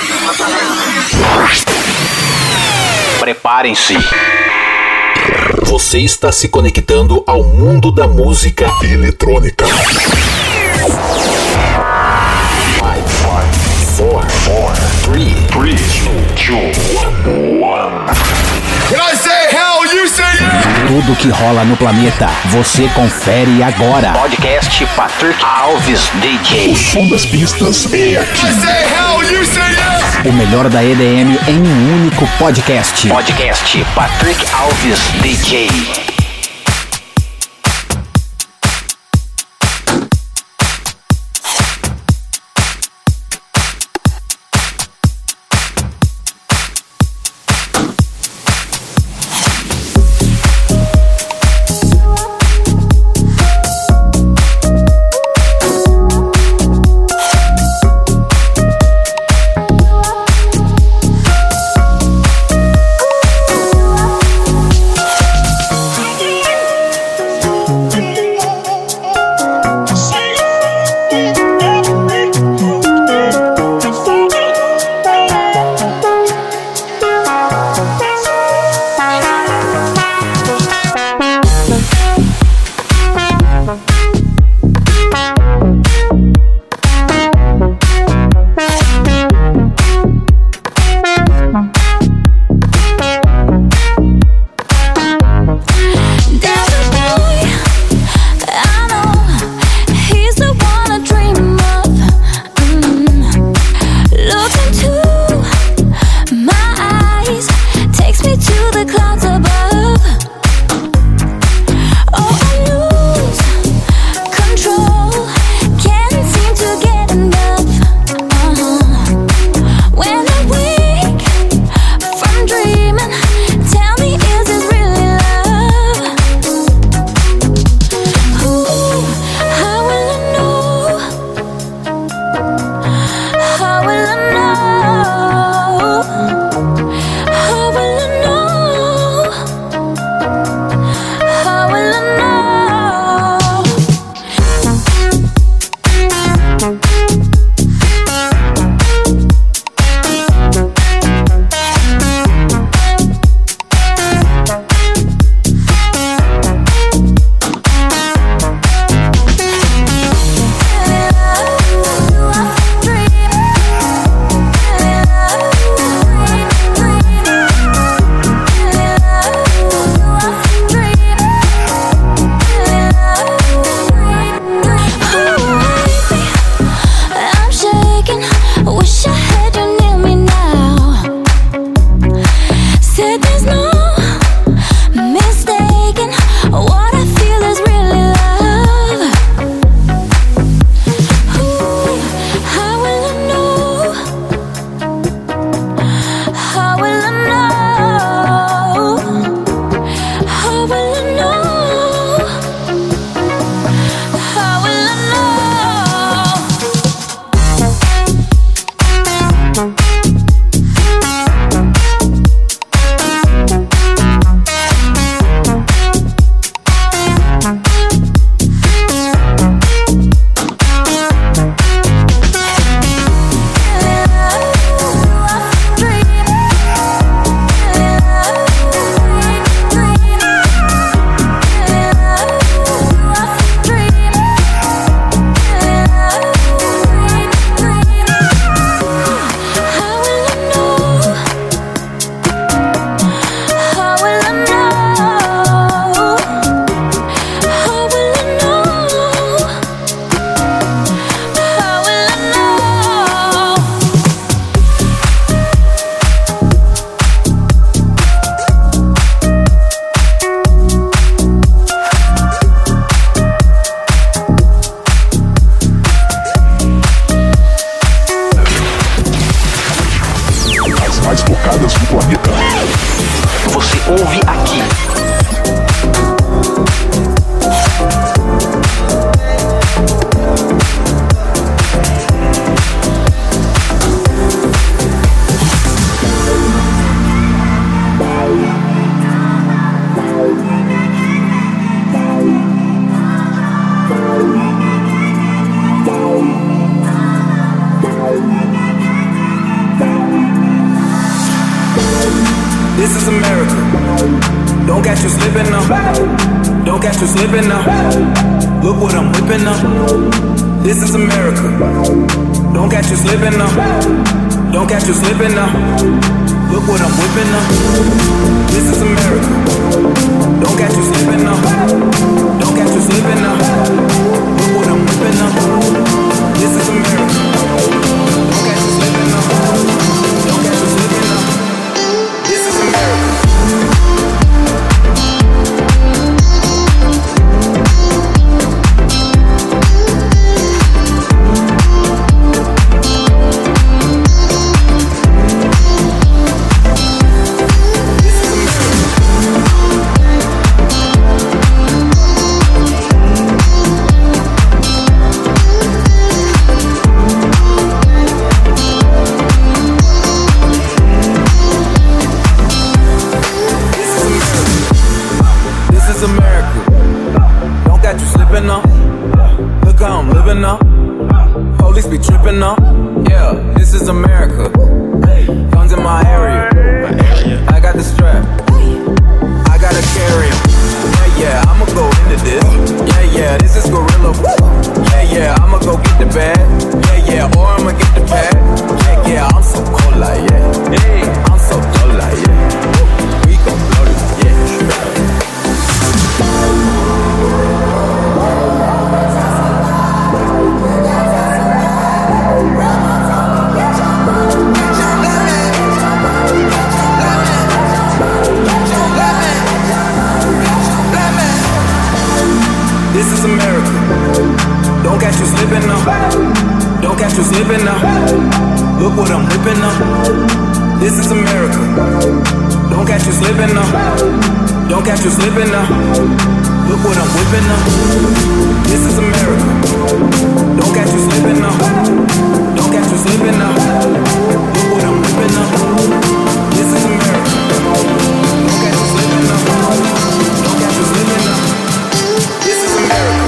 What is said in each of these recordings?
Preparem-se. Você está se conectando ao mundo da música eletrônica. 5, 4, 3, 2, 1. When I say hell, you say yeah! Tudo que rola no planeta, você confere agora. Podcast Patrick Alves DJ. O som das pistas é aqui. When I say hell, you say yeah! O melhor da EDM em um único podcast. Podcast Patrick Alves DJ. ouve aqui. This is America. Don't catch you slipping now. Don't catch you slipping now. Look what I'm whipping up. This is America. Don't catch you slipping now. Don't catch you slipping now. Look what I'm whipping up. This is America. Don't catch you slipping now. Don't catch you slipping now. Look what I'm whipping up. This is America. Don't catch you slipping now. Don't catch you slipping now. This is America. Look how I'm living now. Police be tripping now. Yeah, this is America. Guns in my area. I got the strap. I gotta carry 'em. Yeah, I'ma go into this. Yeah, this is gorilla. Yeah, I'ma go get the bag. Yeah, or I'ma get the pad. Yeah, I'm so cold like yeah. I'm so cold like yeah. We gon' blow this, yeah. This is America. Don't catch you slipping now. Don't catch you slipping now. Look what I'm whipping up. This is America. Don't catch you slipping now. Don't catch you slipping now. Look what I'm whipping up. This is America. Don't catch you slipping now. Don't catch you slipping now. Look what I'm whipping up. This is America. Don't catch you slipping now. Don't catch you slipping now. This is America.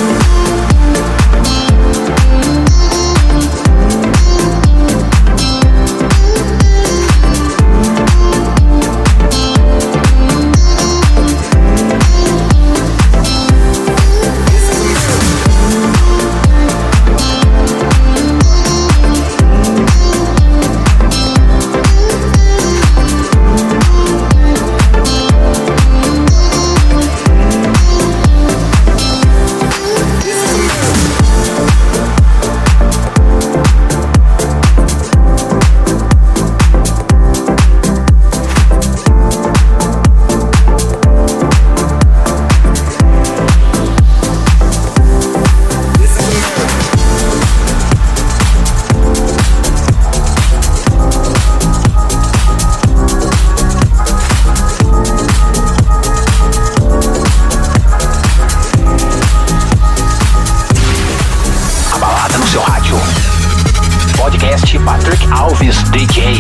Patrick Alves DJ.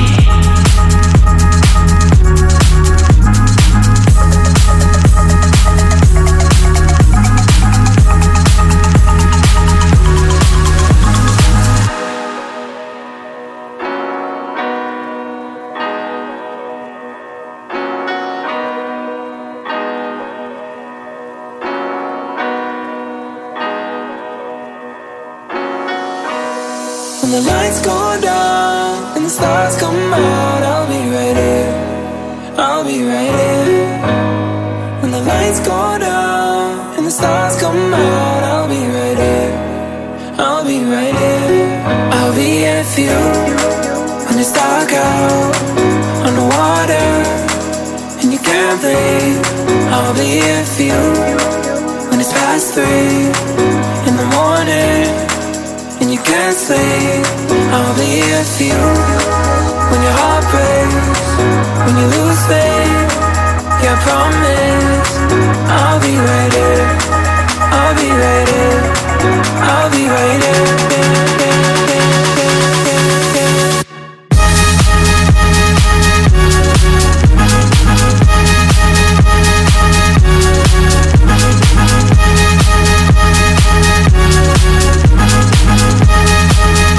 When the lights go down and the stars come out, I'll be right here. I'll be right here. When the lights go down and the stars come out, I'll be right here. I'll be right here. I'll be here for you when it's dark out on the water and you can't breathe. I'll be here for you when it's past 3 in the morning and you can't sleep. I'll be here for you when your heart breaks, when you lose faith. Yeah, I promise I'll be right here. I'll be right here. I'll be right here.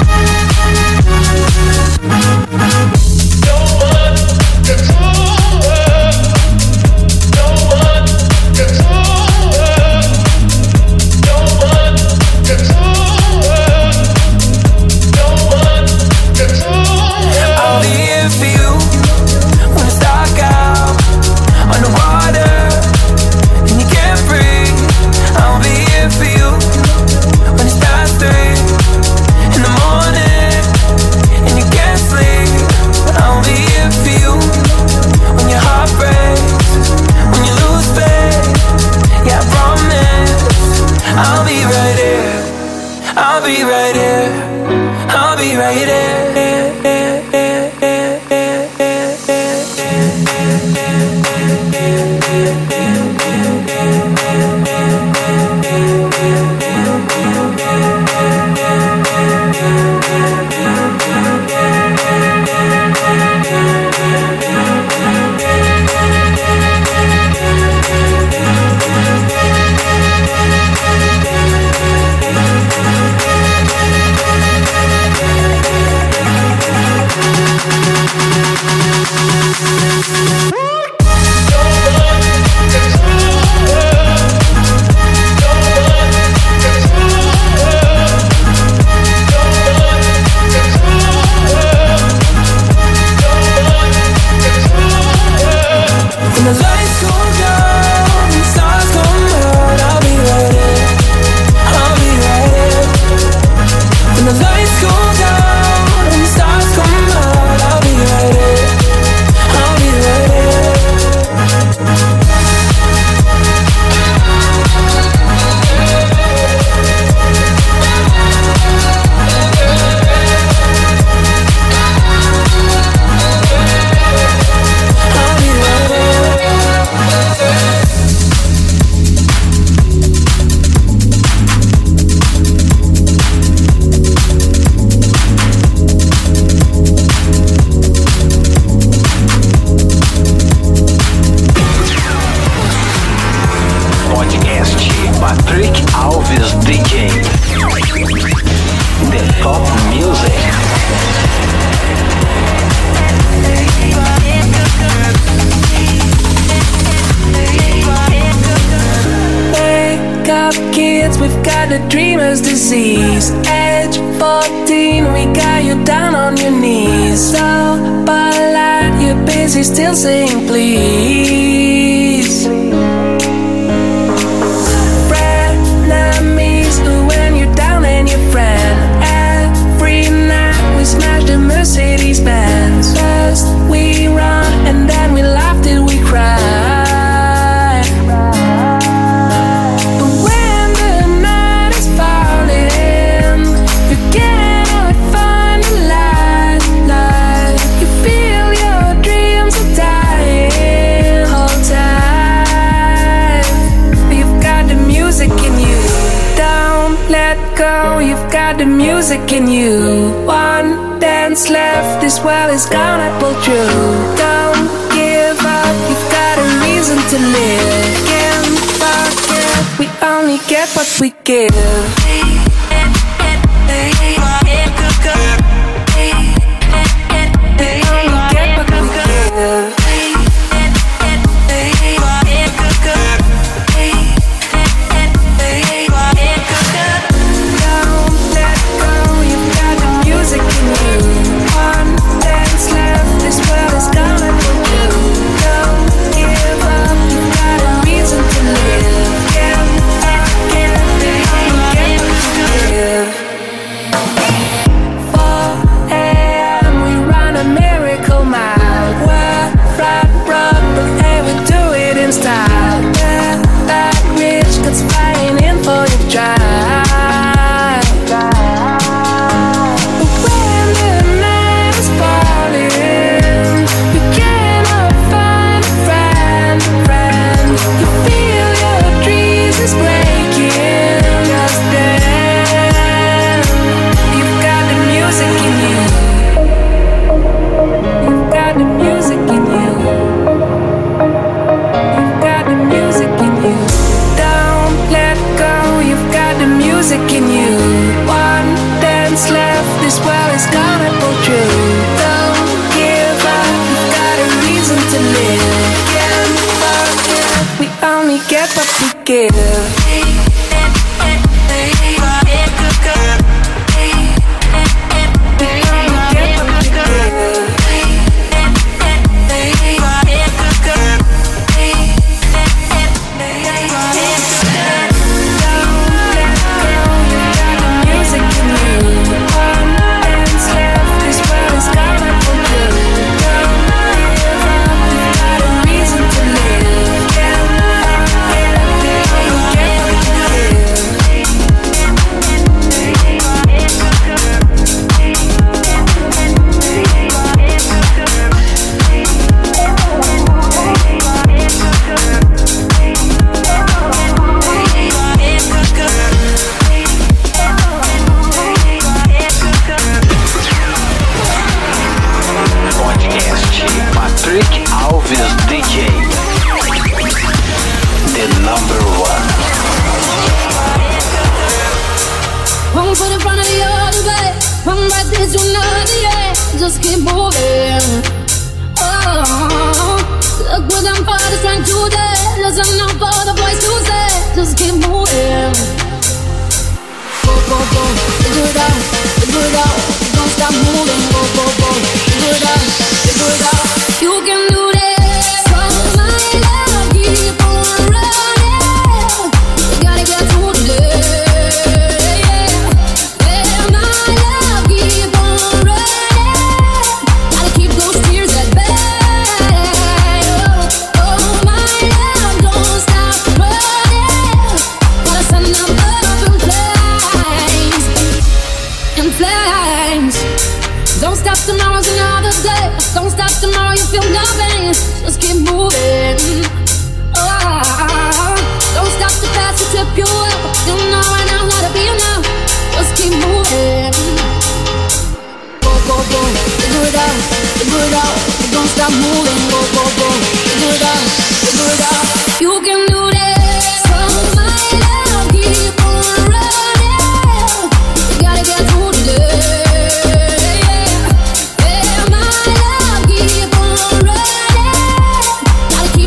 No one control dreamer's disease. Age 14, we got you down on your knees. So polite, you're busy still saying please. Frenemies, when you're down and your friend. Every night we smash the Mercedes Benz. First we run and then we laugh till we cry. Go, you've got the music in you. One dance left, this world is gonna pull through. Don't give up, you've got a reason to live. Can't forget, we only get what we give.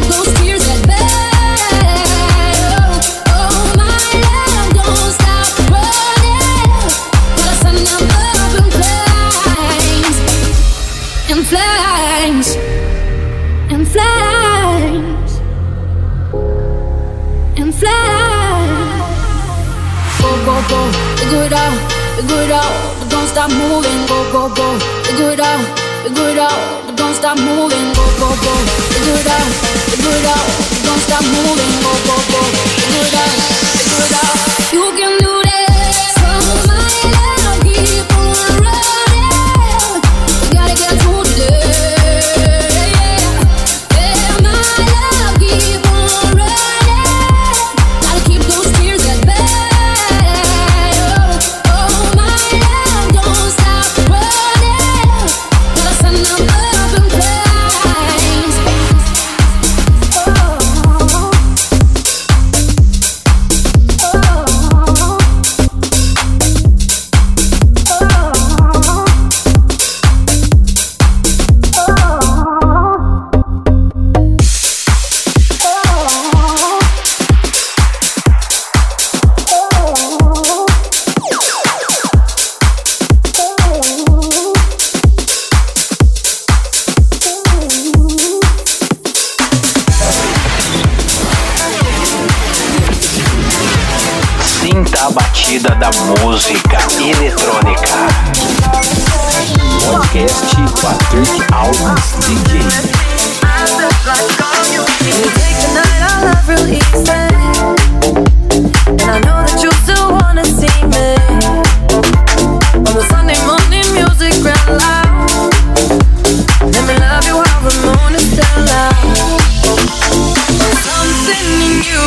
Stop flames and flames and flames. Go, go, go, figure it out, but don't stop moving. Go, go, go, figure it out, but don't stop moving. Go, go, go, figure it out, but don't stop moving. Go, go, go, figure it out, You can do this, so my love, keep on running. You gotta get through today. Yeah, my love, keep on running. Gotta keep those tears at bay. Oh, my love, don't stop running. Gotta send them up in flames. Sinta a batida da música eletrônica. Podcast Patrick Alves DJ. You take the night I love real easy, and I know that you still wanna see me. On the Sunday morning music real loud. Let me love you while the moon is still out. Something in you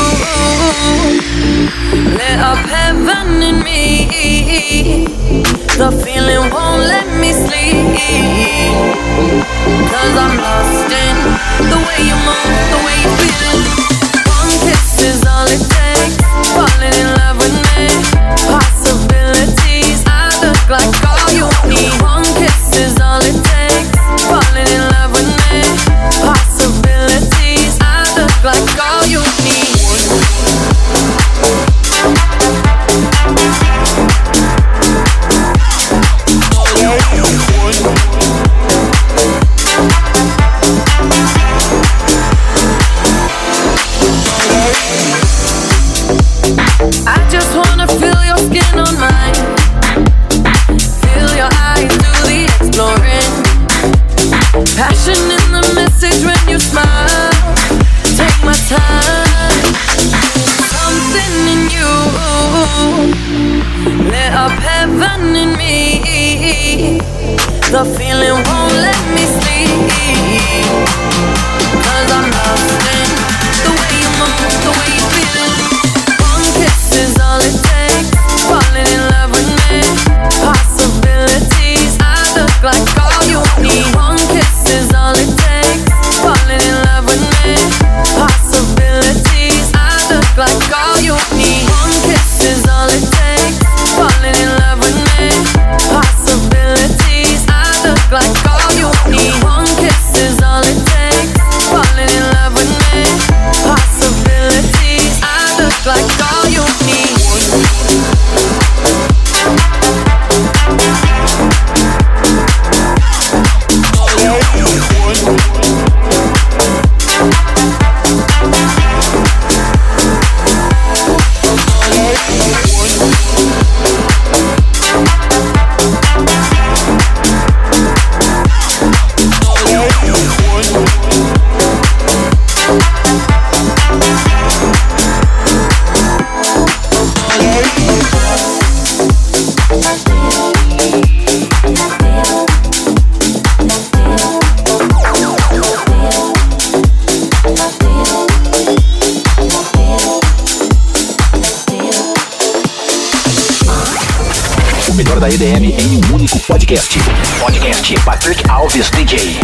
lit up heaven in me. The feeling won't let me sleep, 'cause I'm lost in the way you move, the way you feel. One kiss is all it takes, falling in love with me. Possibilities, I look like all you need. One kiss is all it takes, falling in love with me. Possibilities, I look like all you need. I just wanna feel your skin on mine. Feel your eyes do the exploring. Passion in the message when you smile. Take my time. Something in you lit up heaven in me. The feeling won't let me sleep, 'cause I'm lost in the way you move, the way you feel. One kiss is all it takes, falling in love with me. Possibilities, I look like all you need. One kiss is all it takes, falling in love with me. Possibilities, I look like all you need. One kiss is all it takes, falling in love with me. Possibilities, I look like all you need. One kiss is all it takes, falling in love with me. Possibilities, I look like all you need. O melhor da EDM em um único podcast. Podcast Patrick Alves DJ.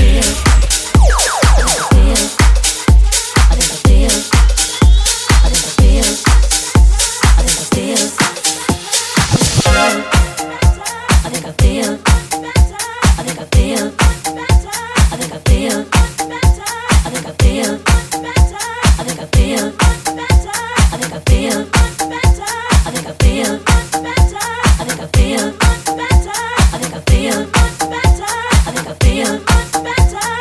I think I feel better.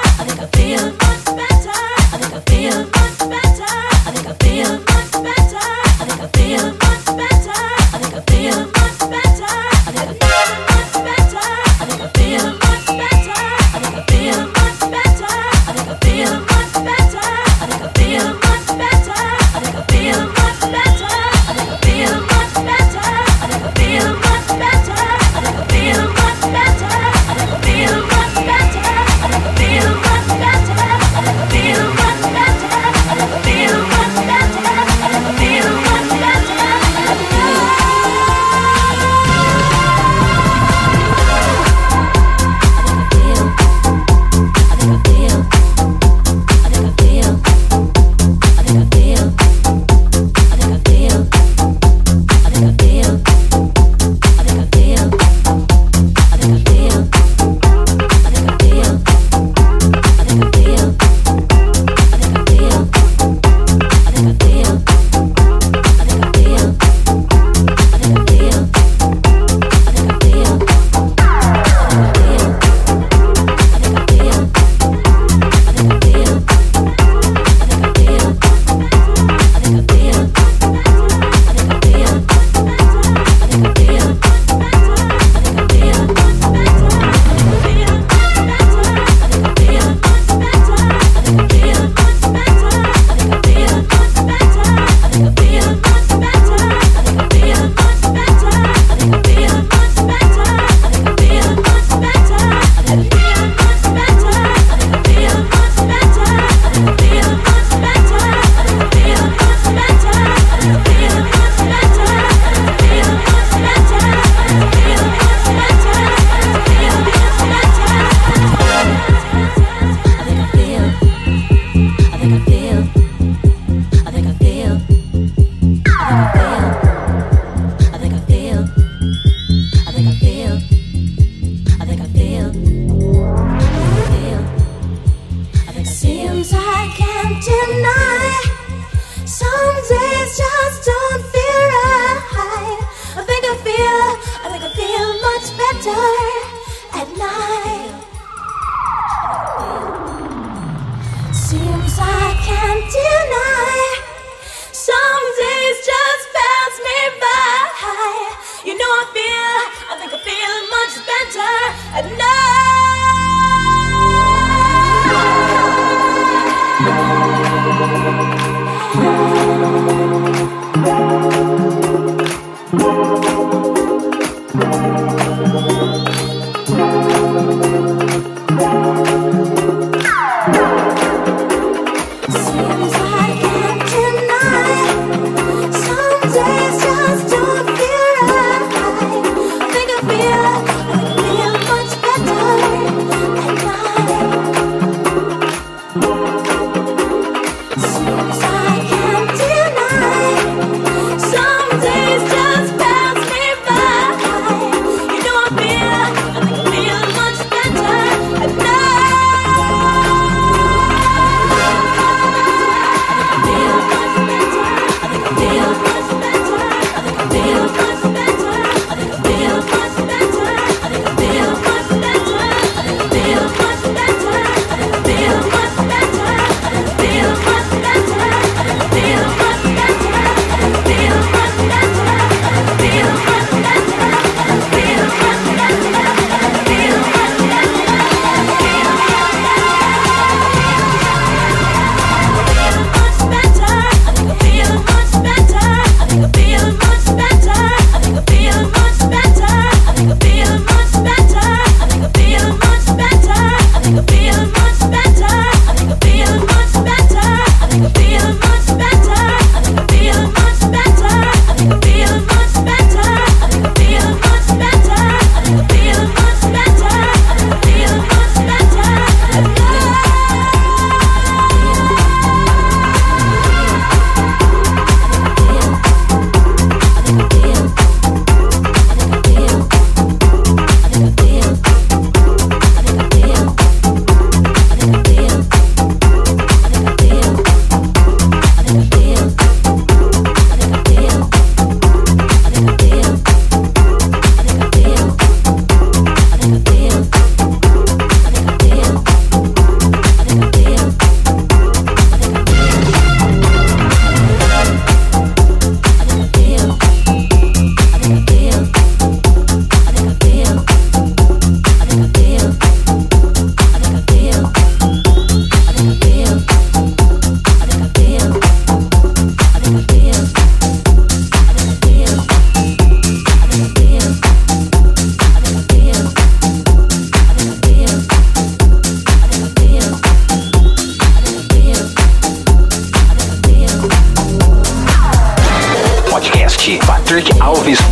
Seems I can't do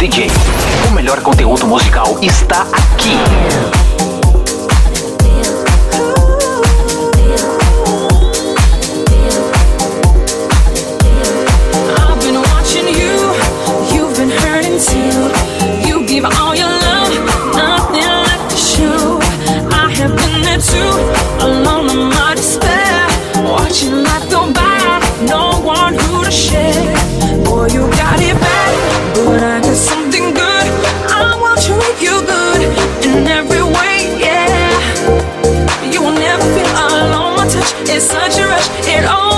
DJ. O melhor conteúdo musical está aqui. I've been watching you, you've been hurting too. You give all your love, nothing left to show. I have been there too, alone in my despair, watching life go by, no one who to share. Boy, you got it bad, but I got something good. I will treat you good in every way, yeah. You will never feel alone, my touch is such a rush, it all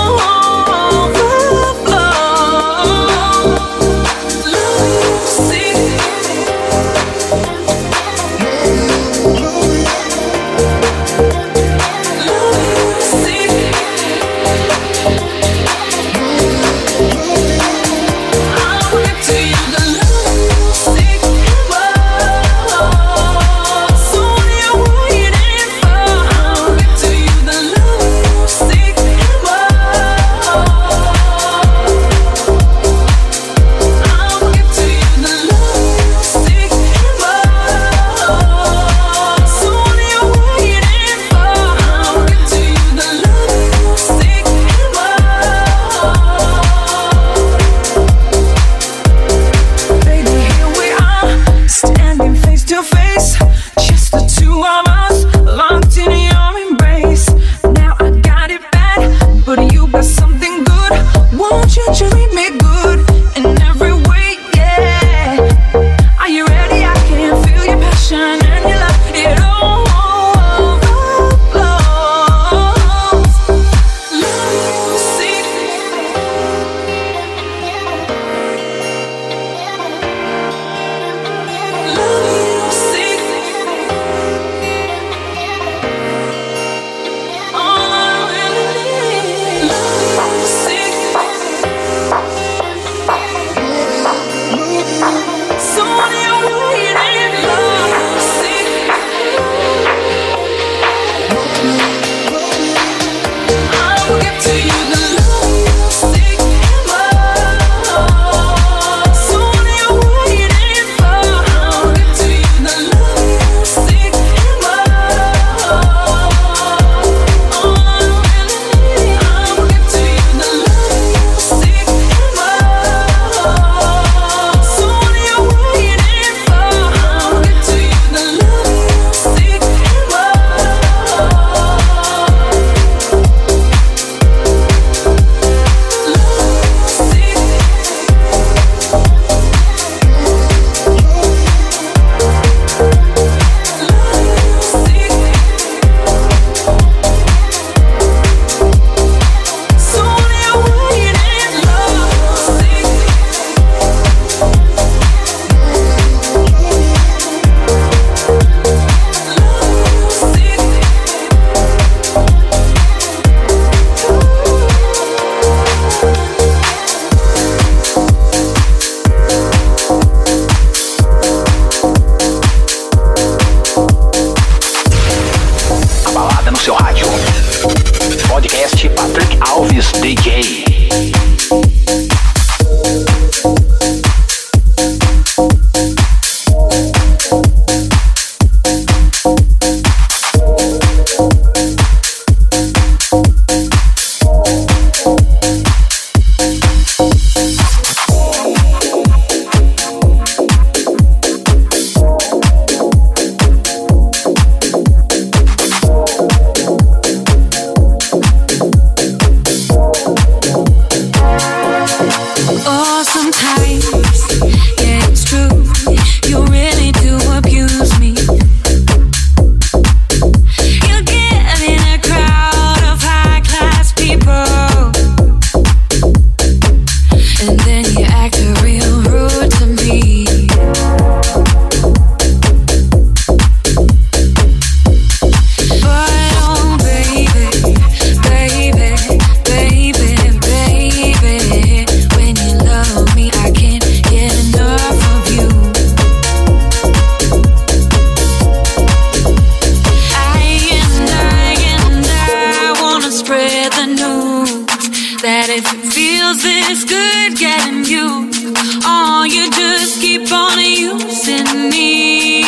that if it feels this good getting you, oh, you just keep on using me.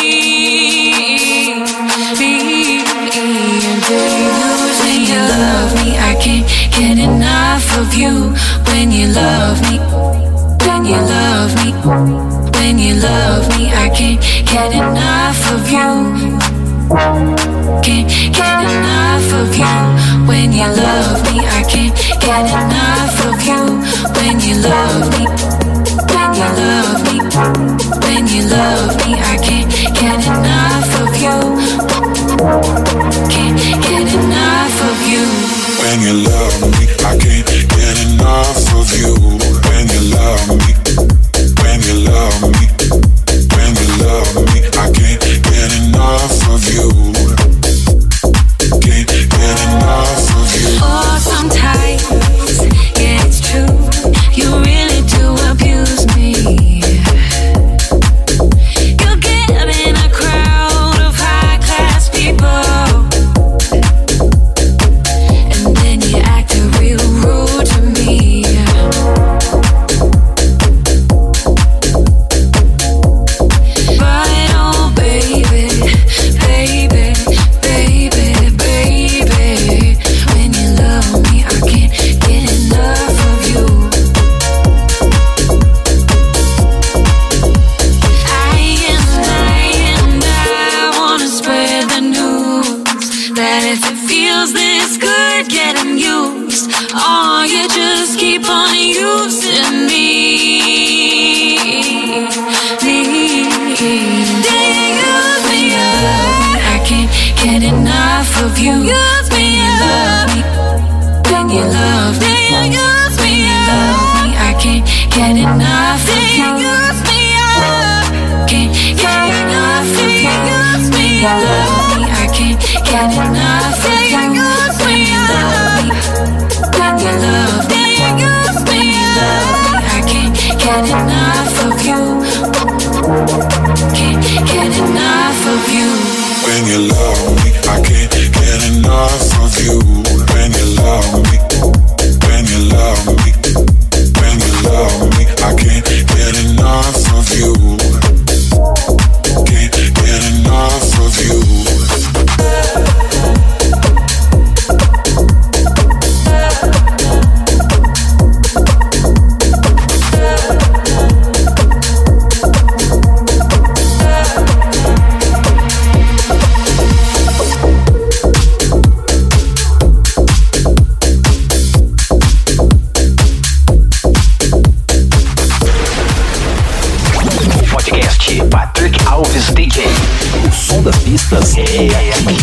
Until you lose me, you love me. I can't get enough of you. When you love me, when you love me, when you love me, I can't get enough of you. Can't get enough of you. When you love me, I can't get enough of you. When you love me, when you love me, when you love me, I can't get enough of you. Can't get enough of you. When you love me, I can't get enough of you. When you love me, when you love me, when you love me, I can't get enough of you. Can't get enough of you. Oh, sometimes, yeah, it's true. You really do abuse me. You get in a crowd of high-class people, and then you act real rude to me. But oh, baby, baby, baby, baby, when you love me, I can't get enough of you. I wanna spread the news that if it feels this good getting used, oh, you just keep on using me. I can't get enough of you. When you love me, when you love me, when you love me, I can't get enough of you. Can't get enough of you. When you love me, I can't get enough of you. When you love me, when you love me, when you love me, I can't get enough of you. Can't get enough of you. When you love me, I can't get enough of you. When you love me, when you love me, when you love me, I can't get enough of you. Can't get enough of you. Patrick Alves DJ. O som das pistas é aqui.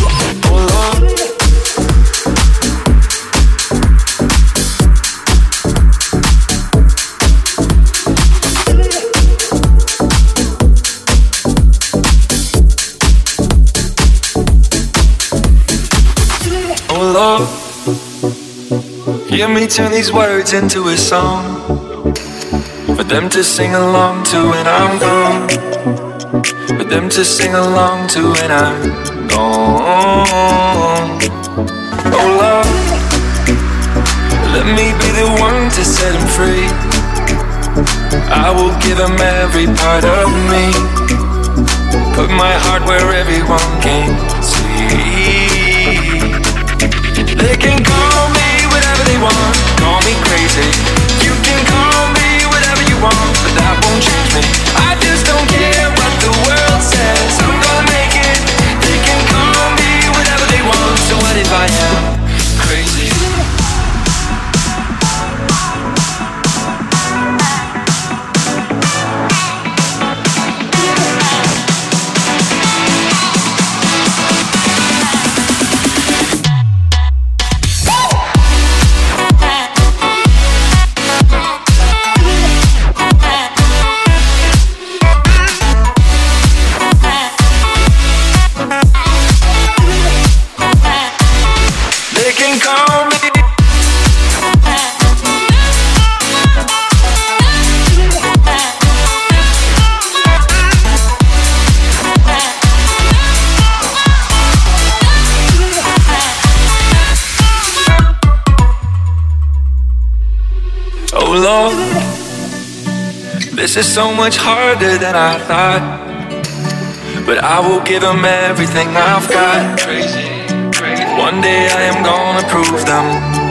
Oh Lord, hear me turn these words into a song for them to sing along to when I'm gone, for them to sing along to when I'm gone. Oh Lord, let me be the one to set them free. I will give them every part of me, put my heart where everyone can see. They can call me whatever they want, call me crazy. You can call me whatever you want, but that won't change me. I just don't care what the world says, I'm gonna make it. They can call me whatever they want, so what if I am crazy? Lord, this is so much harder than I thought, but I will give them everything I've got. One day I am gonna prove them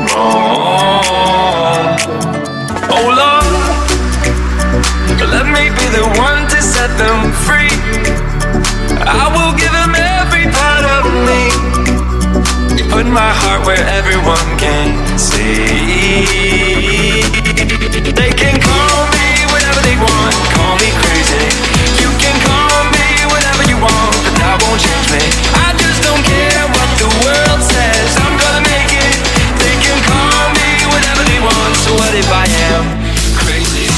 wrong. Oh Lord, let me be the one to set them free. I will give them every part of me. Put my heart where everyone can see. They can call me whatever they want, call me crazy. You can call me whatever you want, but that won't change me. I just don't care what the world says, I'm gonna make it. They can call me whatever they want, so what if I am crazy?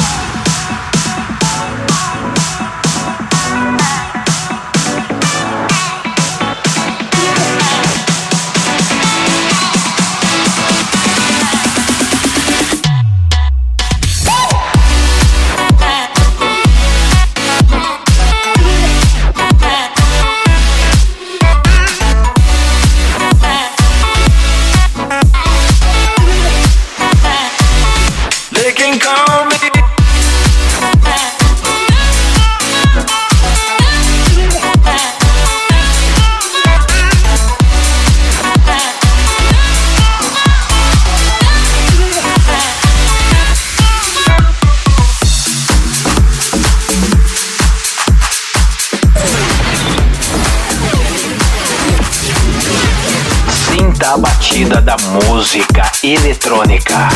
A batida da música eletrônica.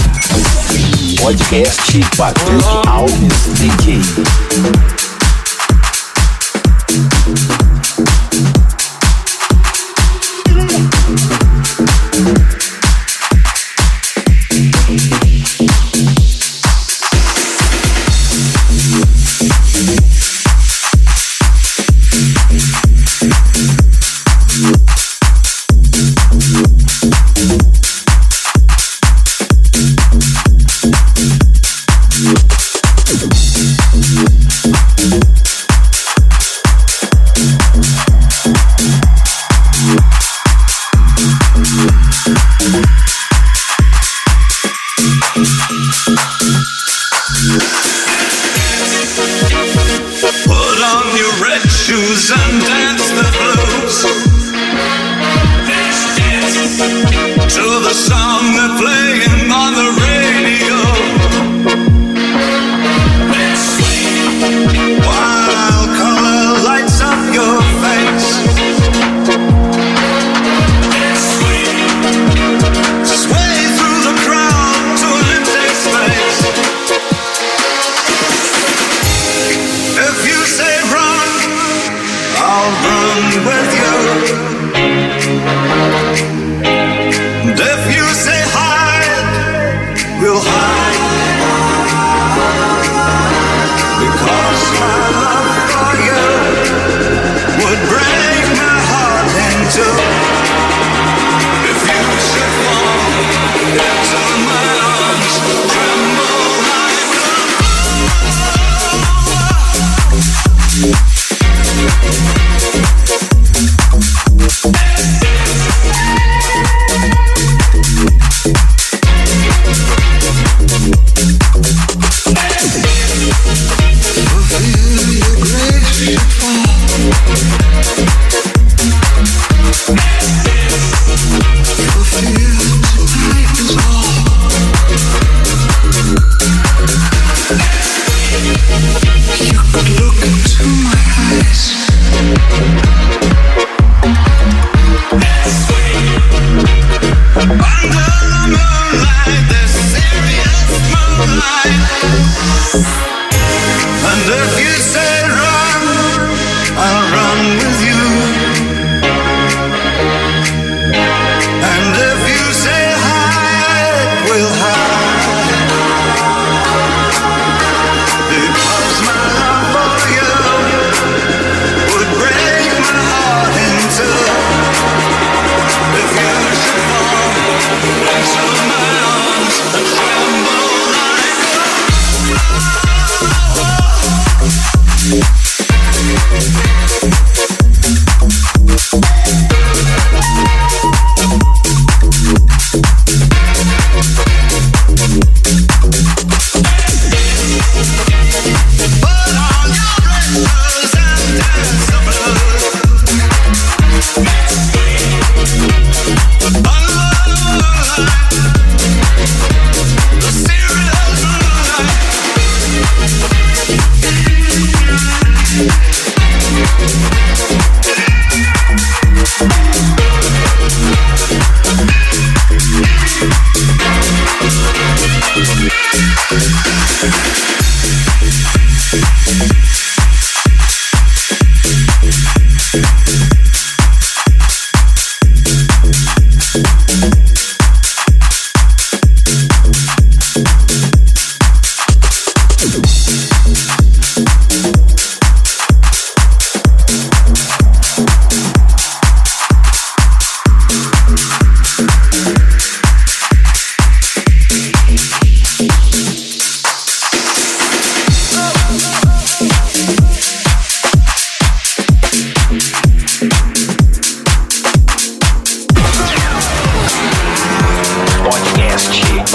Podcast Patrick Alves DJ. If you say hide,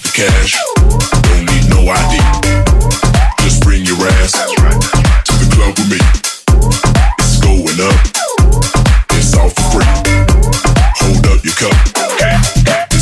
the cash. Don't need no ID. Just bring your ass to the club with me. It's going up. It's all for free. Hold up your cup.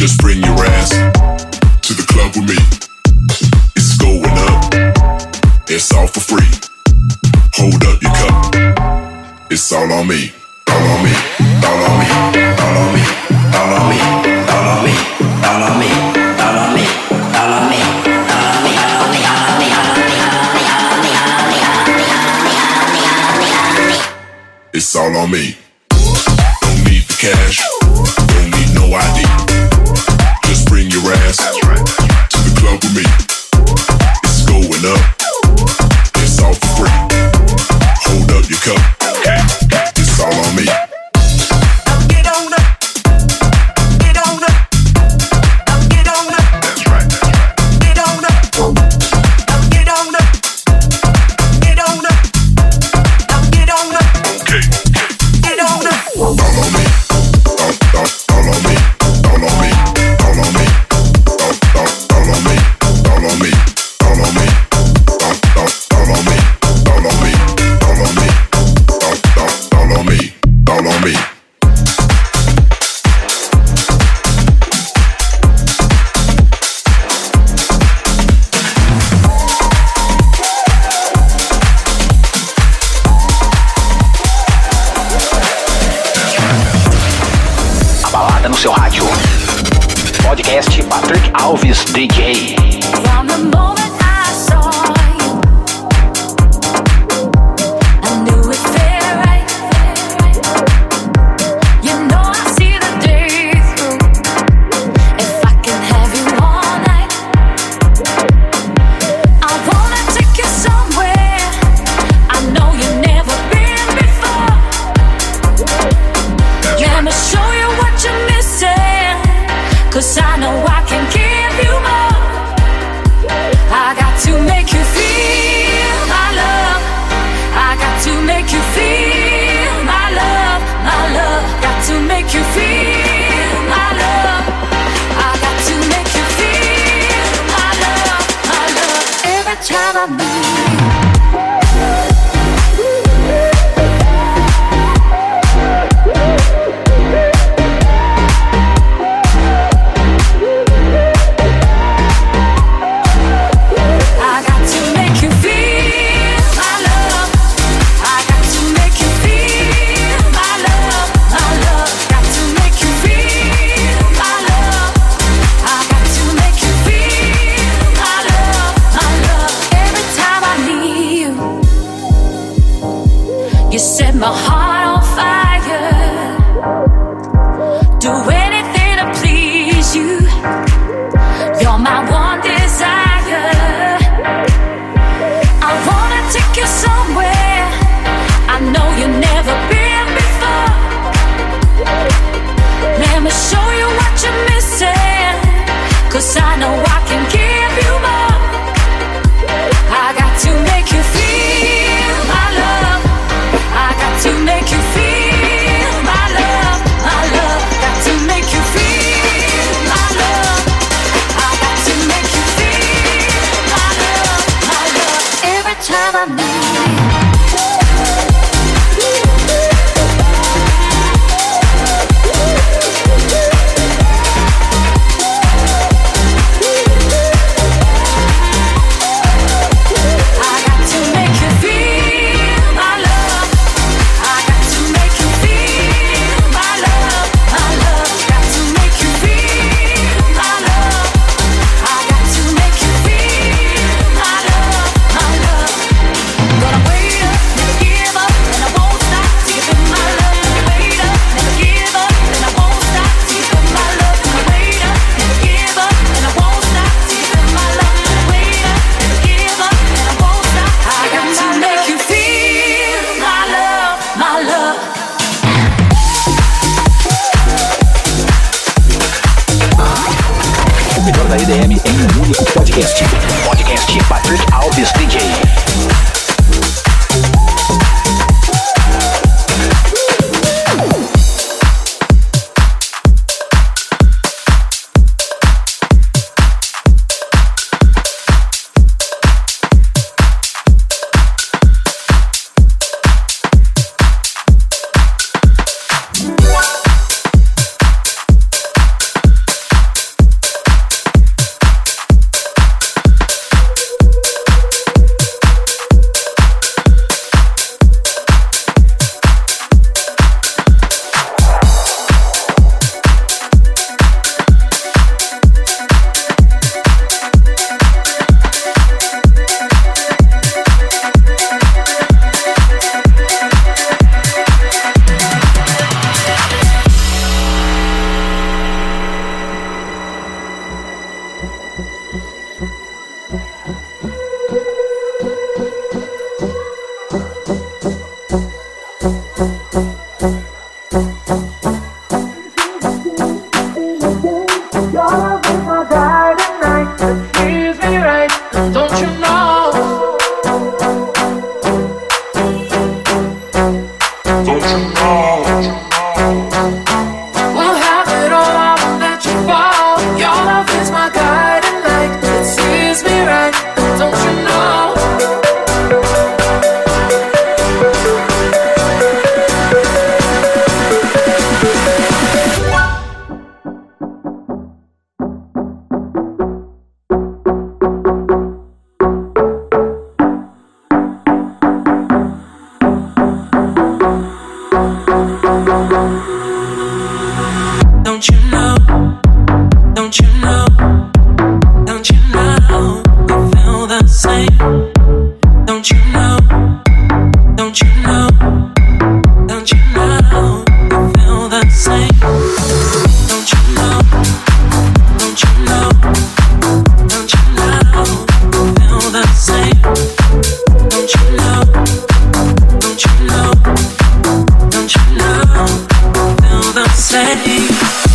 Just bring your ass to the club with me. It's going up, it's all for free. Hold up your cup, it's all on me. All on me, all on me, all on me, all on me, all on me, all on me, all on me, all on me, all on me, all on me, all on me, all on me, all on me, all on me, all on me, all on me, all on me, all on me. It's all on me. Don't need the cash, don't need no ID. Just bring your ass to the club with me. It's going up, it's all for free. Hold up your cup. It's all on me. Get on up. Get on up. Get on up. That's right. Get on up. Get on up. Get on up. Get on up. Okay. Get on up. All on me. All on me. All on me. All on me. All on me. All on me. All on me. All on me. All on me. All on me. All on me, all on me. A balada no seu rádio. Podcast Patrick Alves DJ. From the moment I saw you, I knew it felt right. You know I see the day through. If I can have you all night, I wanna take you somewhere I know you've never been before. Let me show you what you're missing, 'cause I know I can give you more. I got to make you feel my love. I got to make you feel my love, my love. Got to make you feel my love. I got to make you feel my love, my love. Every time I meet you. You set my heart on fire. Do anything to please you. You're my one desire. I wanna take you somewhere I know you've never been before. Let me show you what you're missing, 'cause I know I can give you more. I got to make you feel my love. I got to make you feel my love, my love. Got to make you feel my love. I got to make you feel my love, my love. Every time I meet you. Gonna wait Don't you know? Don't you know? You feel the same. Don't you know? Don't you know? Don't you know? You feel the same. Don't you know? Don't you know? Don't you know? You feel the same.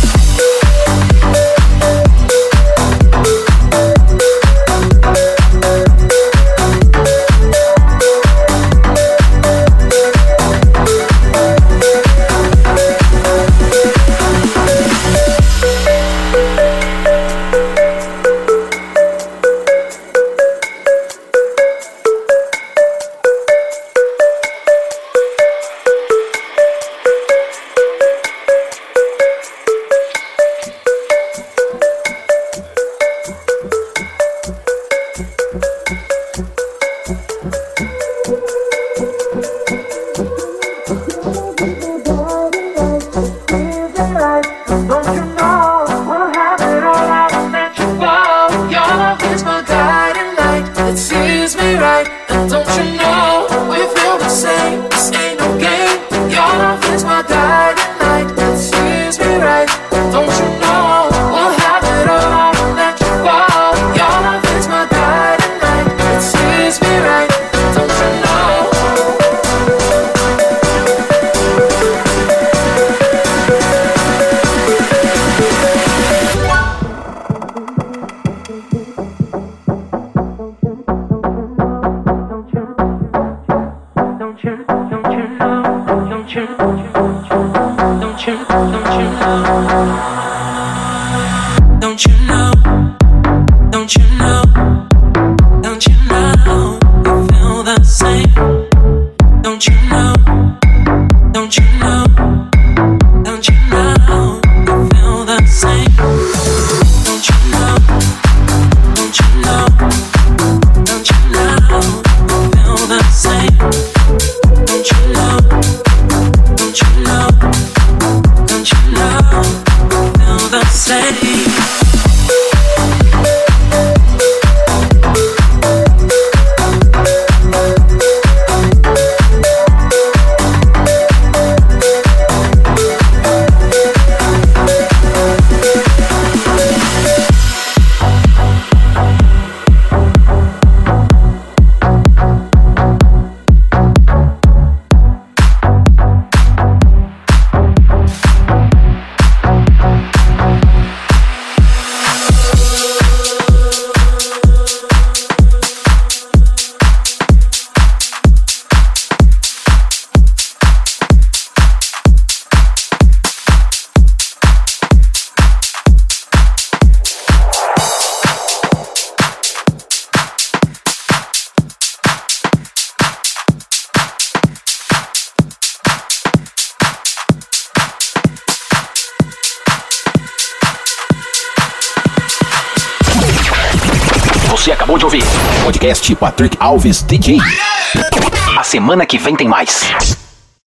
Você acabou de ouvir Podcast Patrick Alves DJ. A semana que vem tem mais.